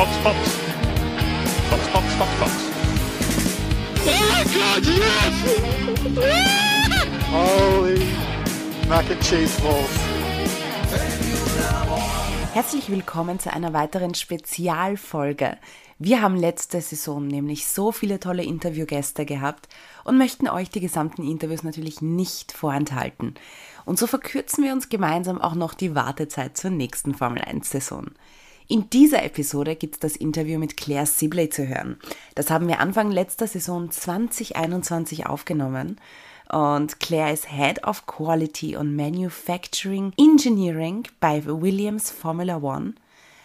Fox, Fox. Fox, Fox, Fox, Fox. Oh my God, yes! Holy Mac and Cheese Balls. Herzlich willkommen zu einer weiteren Spezialfolge. Wir haben letzte Saison nämlich so viele tolle Interviewgäste gehabt und möchten euch die gesamten Interviews natürlich nicht vorenthalten. Und so verkürzen wir uns gemeinsam auch noch die Wartezeit zur nächsten Formel-1-Saison. In dieser Episode gibt es das Interview mit Claire Sibley zu hören. Das haben wir Anfang letzter Saison 2021 aufgenommen. Und Claire ist Head of Quality and Manufacturing Engineering bei Williams Formula One.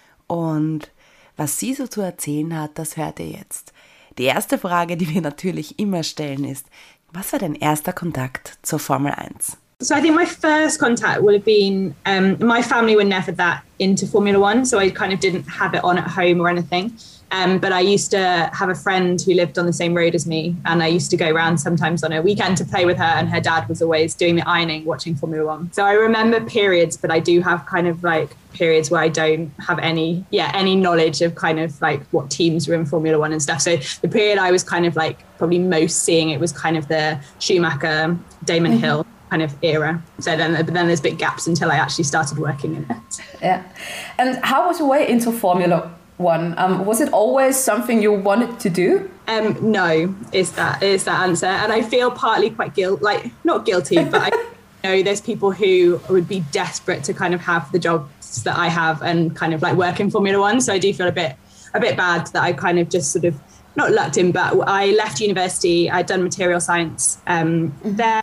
Und was sie so zu erzählen hat, das hört ihr jetzt. Die erste Frage, die wir natürlich immer stellen, ist: Was war dein erster Kontakt zur Formel 1? So I think my first contact would have been, my family were never that into Formula One, so I kind of didn't have it on at home or anything. But I used to have a friend who lived on the same road as me, and I used to go around sometimes on a weekend to play with her, and her dad was always doing the ironing, watching Formula One. So I remember periods, but I do have kind of like periods where I don't have any knowledge of kind of like what teams were in Formula One and stuff. So the period I was kind of like probably most seeing it was kind of the Schumacher, Damon Hill kind of era. So then there's big gaps until I actually started working in it. Yeah. And how was your way into Formula One? Was it always something you wanted to do? No, is that answer. And I feel partly quite not guilty, but I know there's people who would be desperate to kind of have the jobs that I have and kind of like work in Formula One. So I do feel a bit bad that I kind of just sort of not lucked in, but I left university. I'd done material science there.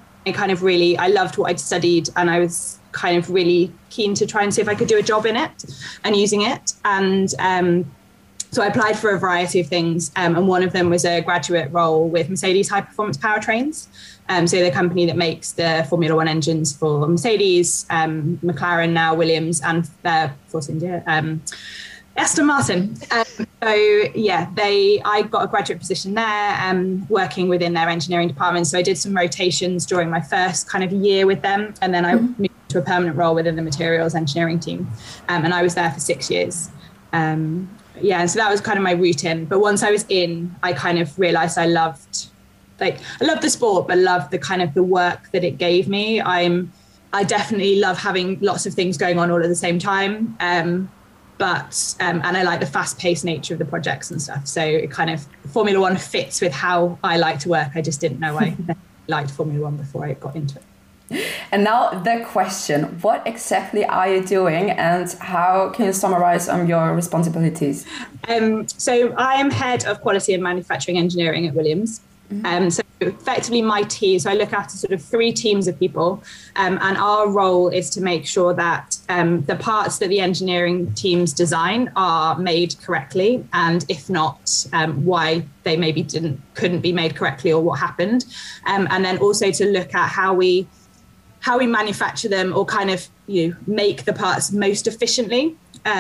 I loved what I'd studied, and I was kind of really keen to try and see if I could do a job in it and using it. And so I applied for a variety of things, and one of them was a graduate role with Mercedes High Performance Powertrains. So the company that makes the Formula One engines for Mercedes, McLaren now, Williams, and Force India, Aston Martin. I got a graduate position there, working within their engineering department. So I did some rotations during my first kind of year with them, and then I moved to a permanent role within the materials engineering team, and I was there for 6 years. So that was kind of my route in. But once I was in, I kind of realised I loved the sport, but loved the kind of the work that it gave me. I definitely love having lots of things going on all at the same time. But and I like the fast-paced nature of the projects and stuff. So it kind of Formula One fits with how I like to work. I just didn't know I liked Formula One before I got into it. And now the question: what exactly are you doing, and how can you summarize your responsibilities? So I am head of quality and manufacturing engineering at Williams. So effectively my team, so I look after sort of 3 teams of people, and our role is to make sure that the parts that the engineering teams design are made correctly, and if not, why they maybe couldn't be made correctly or what happened, and then also to look at how we manufacture them, or kind of make the parts most efficiently.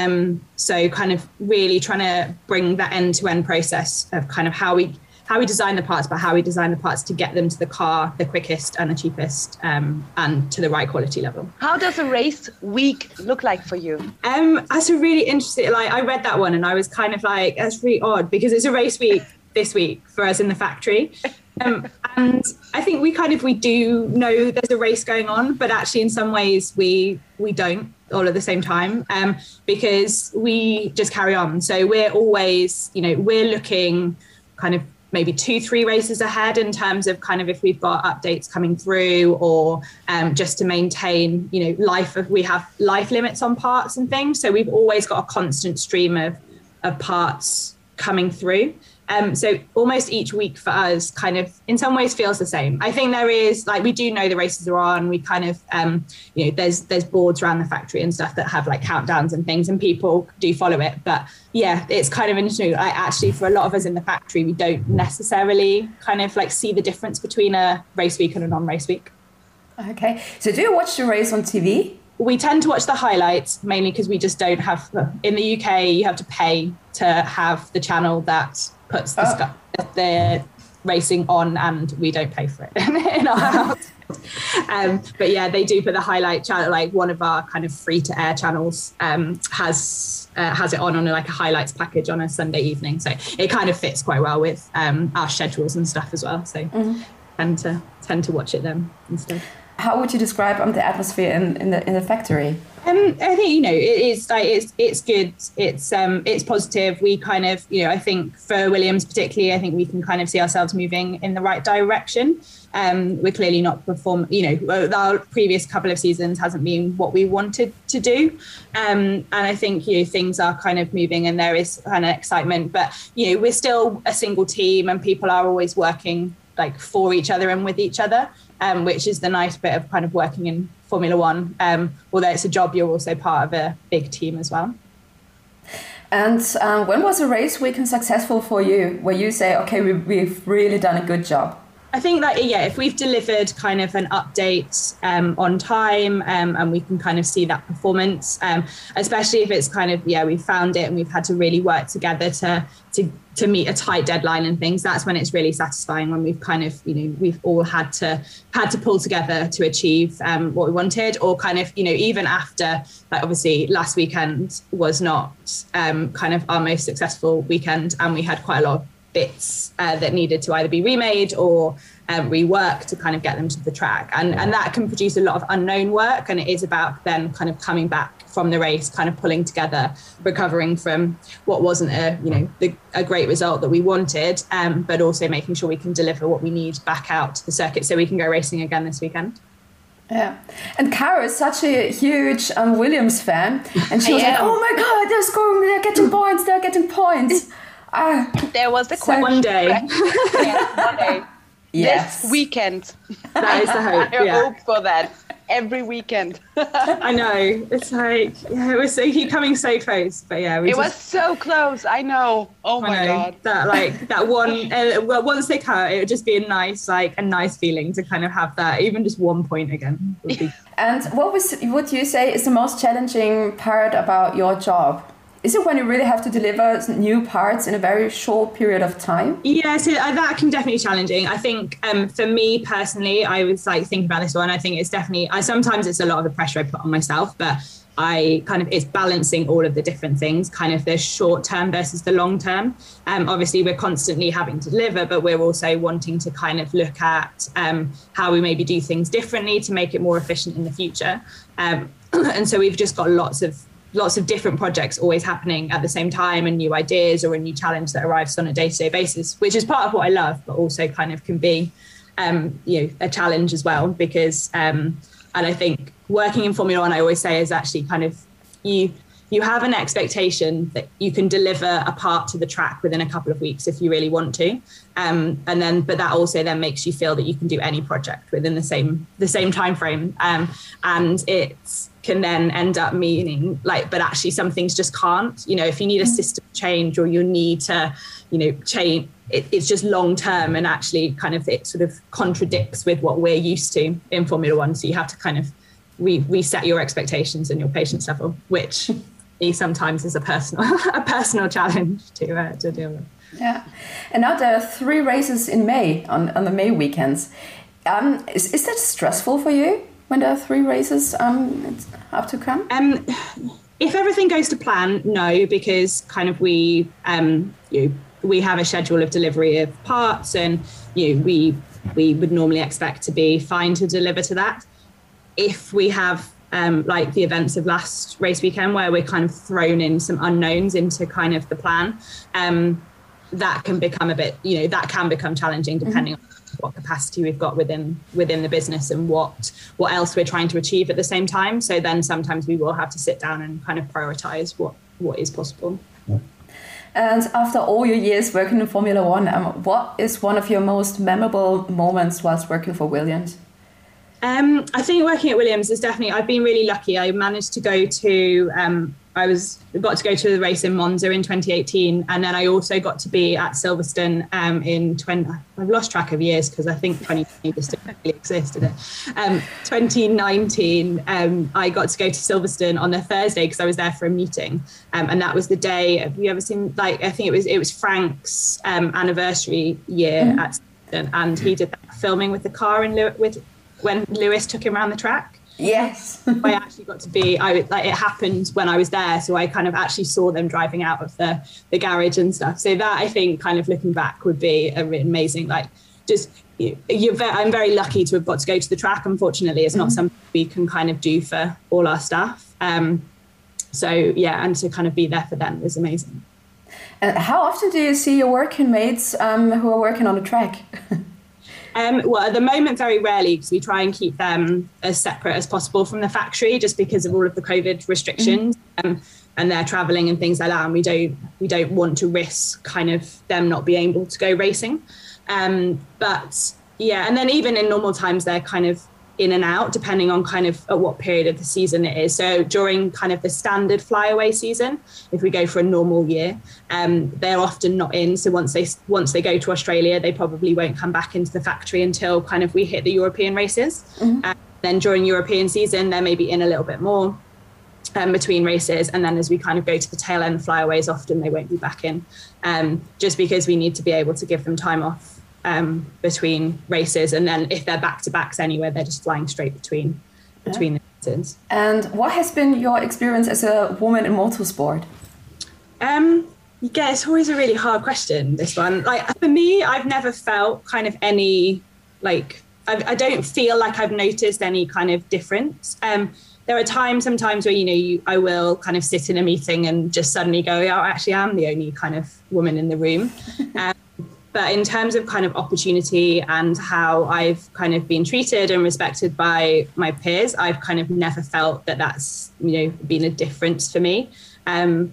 So kind of really trying to bring that end-to-end process of kind of how we design the parts, but how we design the parts to get them to the car the quickest and the cheapest, and to the right quality level. How does a race week look like for you? That's a really interesting, I read that one and I was kind of like, that's really odd, because it's a race week this week for us in the factory. And I think we do know there's a race going on, but actually in some ways we don't all at the same time, because we just carry on. So we're always, we're looking kind of maybe 2-3 races ahead in terms of kind of if we've got updates coming through, or just to maintain, we have life limits on parts and things. So we've always got a constant stream of parts coming through. So almost each week for us kind of in some ways feels the same. I think there is, we do know the races are on. We kind of, there's boards around the factory and stuff that have like countdowns and things, and people do follow it. But yeah, it's kind of interesting. Actually, for a lot of us in the factory, we don't necessarily kind of see the difference between a race week and a non-race week. Okay. So do you watch the race on TV? We tend to watch the highlights, mainly because we just don't have, in the UK, you have to pay to have the channel that puts the racing on, and we don't pay for it in our house. But yeah, they do put the highlight channel, like one of our kind of free to air channels has it on like a highlights package on a Sunday evening. So it kind of fits quite well with our schedules and stuff as well. So tend to watch it then instead. How would you describe the atmosphere in the factory? I think, it's good. It's positive. We kind of, I think for Williams particularly, I think we can kind of see ourselves moving in the right direction. We're clearly not our previous couple of seasons hasn't been what we wanted to do. And I think, things are kind of moving and there is kind of excitement, but, we're still a single team and people are always working like for each other and with each other, which is the nice bit of kind of working in Formula One. Although it's a job, you're also part of a big team as well. And when was a race weekend successful for you, where you say, okay, we've really done a good job? I think that, if we've delivered kind of an update on time and we can kind of see that performance, especially if it's kind of, we found it and we've had to really work together to meet a tight deadline and things, that's when it's really satisfying, when we've kind of, we've all had to pull together to achieve what we wanted, or kind of, even after, like obviously last weekend was not kind of our most successful weekend, and we had quite a lot of bits that needed to either be remade or reworked to kind of get them to the track, and that can produce a lot of unknown work, and it is about then kind of coming back from the race, kind of pulling together, recovering from what wasn't a great result that we wanted, but also making sure we can deliver what we need back out to the circuit so we can go racing again this weekend. Yeah, and Cara is such a huge Williams fan, and she was like, "Oh my God, they're scoring! They're getting points!" There was the question. One day. One day. Yes. This weekend. That is the hope. I hope for that. Every weekend. I know. It's like, it was coming so close, but it was so close. I know. Oh my God. That one. Once they cut, it would just be a nice feeling to kind of have that, even just 1 point again. Would be. And what would you say is the most challenging part about your job? Is it when you really have to deliver new parts in a very short period of time? Yeah, so that can definitely be challenging. I think for me personally, I was like thinking about this one. I think it's definitely, sometimes it's a lot of the pressure I put on myself, but it's balancing all of the different things, kind of the short term versus the long term. Obviously, we're constantly having to deliver, but we're also wanting to kind of look at how we maybe do things differently to make it more efficient in the future. And so we've just got lots of different projects always happening at the same time, and new ideas or a new challenge that arrives on a day-to-day basis, which is part of what I love, but also kind of can be, a challenge as well, because, and I think working in Formula One, I always say, is actually kind of, you have an expectation that you can deliver a part to the track within a couple of weeks if you really want to. But that also then makes you feel that you can do any project within the same time frame. And it can then end up meaning but actually some things just can't, if you need a system change or you need to, change, it's just long term, and actually kind of it sort of contradicts with what we're used to in Formula One. So you have to kind of reset your expectations and your patience level, which sometimes is a personal challenge to deal with. Yeah, and now there are 3 races in May on the May weekends. Is that stressful for you when there are 3 races up to come? If everything goes to plan, no, because kind of we have a schedule of delivery of parts, and we would normally expect to be fine to deliver to that. If we have like the events of last race weekend, where we're kind of thrown in some unknowns into kind of the plan, that can become a bit, that can become challenging depending on what capacity we've got within the business and what else we're trying to achieve at the same time. So then sometimes we will have to sit down and kind of prioritize what is possible. And after all your years working in Formula One, what is one of your most memorable moments whilst working for Williams? I think working at Williams is definitely, I've been really lucky. I managed to go to, got to go to the race in Monza in 2018. And then I also got to be at Silverstone I've lost track of years because I think 2020 just didn't really exist, did it? 2019, I got to go to Silverstone on a Thursday because I was there for a meeting. And that was the day, have you ever seen, I think it was Frank's anniversary year at and he did that filming with the car when Lewis took him around the track. Yes. I actually got to be, it happened when I was there. So I kind of actually saw them driving out of the garage and stuff. So that, I think, kind of looking back would be amazing. Like, just, I'm very lucky to have got to go to the track. Unfortunately, it's not something we can kind of do for all our staff. So yeah, and to kind of be there for them was amazing. And how often do you see your working mates who are working on the track? Well, at the moment, very rarely, because we try and keep them as separate as possible from the factory, just because of all of the COVID restrictions and they're traveling and things like that. And we don't want to risk kind of them not being able to go racing. But yeah, and then even in normal times, they're kind of in and out, depending on kind of at what period of the season it is. So during kind of the standard flyaway season, if we go for a normal year, they're often not in. So once they go to Australia, they probably won't come back into the factory until kind of we hit the European races. Then during European season, they're maybe in a little bit more between races. And then as we kind of go to the tail end flyaways, often they won't be back in, just because we need to be able to give them time off between races, and then if they're back-to-backs anywhere, they're just flying straight between the races. And what has been your experience as a woman in motorsport? Yeah, it's always a really hard question, this one. Like, for me, I've never felt kind of any, like, I don't feel like I've noticed any kind of difference. There are sometimes where, I will kind of sit in a meeting and just suddenly go, oh, actually, I'm the only kind of woman in the room. But in terms of kind of opportunity and how I've kind of been treated and respected by my peers, I've kind of never felt that that's, been a difference for me. I'm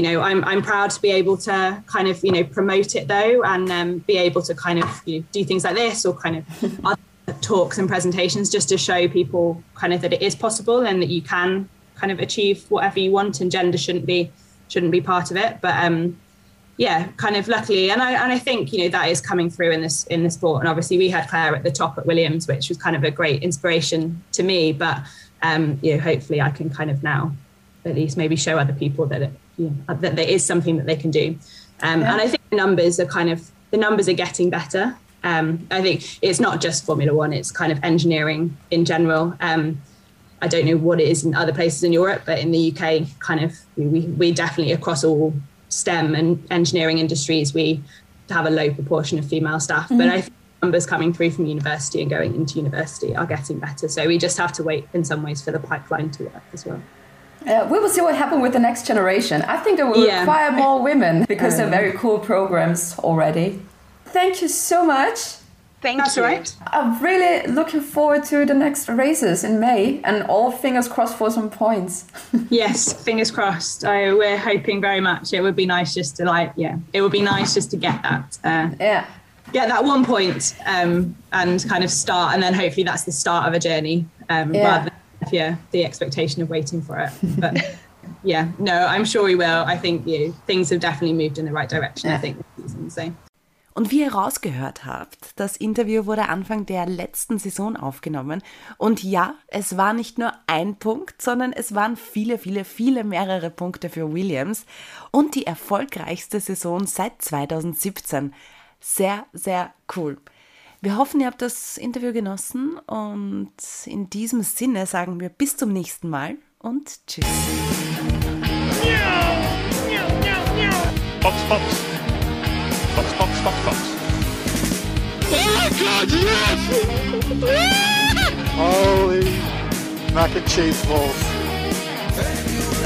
proud to be able to kind of, promote it though, and be able to kind of, do things like this or kind of other talks and presentations just to show people kind of that it is possible and that you can kind of achieve whatever you want, and gender shouldn't be part of it. But, yeah, kind of luckily, and I think that is coming through in the sport. And obviously, we had Claire at the top at Williams, which was kind of a great inspiration to me. But hopefully, I can kind of now at least maybe show other people that that there is something that they can do. And I think the numbers are getting better. I think it's not just Formula One; it's kind of engineering in general. I don't know what it is in other places in Europe, but in the UK, kind of we definitely across all STEM and engineering industries, we have a low proportion of female staff. But I think numbers coming through from university and going into university are getting better. So we just have to wait in some ways for the pipeline to work as well. We will see what happens with the next generation. I think it will require more women because they're very cool programs already. Thank you so much. That's all right. I'm really looking forward to the next races in May, and all fingers crossed for some points. Yes, fingers crossed. We're hoping very much. It would be nice just to get that. Get that 1 point and kind of start, and then hopefully that's the start of a journey rather than the expectation of waiting for it. But I'm sure we will. I think things have definitely moved in the right direction. I think this season. So. Und wie ihr rausgehört habt, das Interview wurde Anfang der letzten Saison aufgenommen. Und ja, es war nicht nur ein Punkt, sondern es waren viele mehrere Punkte für Williams. Und die erfolgreichste Saison seit 2017. Sehr, sehr cool. Wir hoffen, ihr habt das Interview genossen. Und in diesem Sinne sagen wir bis zum nächsten Mal und tschüss. Fox, Fox. Fox, Fox, Fox, Fox. Oh my God, yes! Holy mac and cheese balls.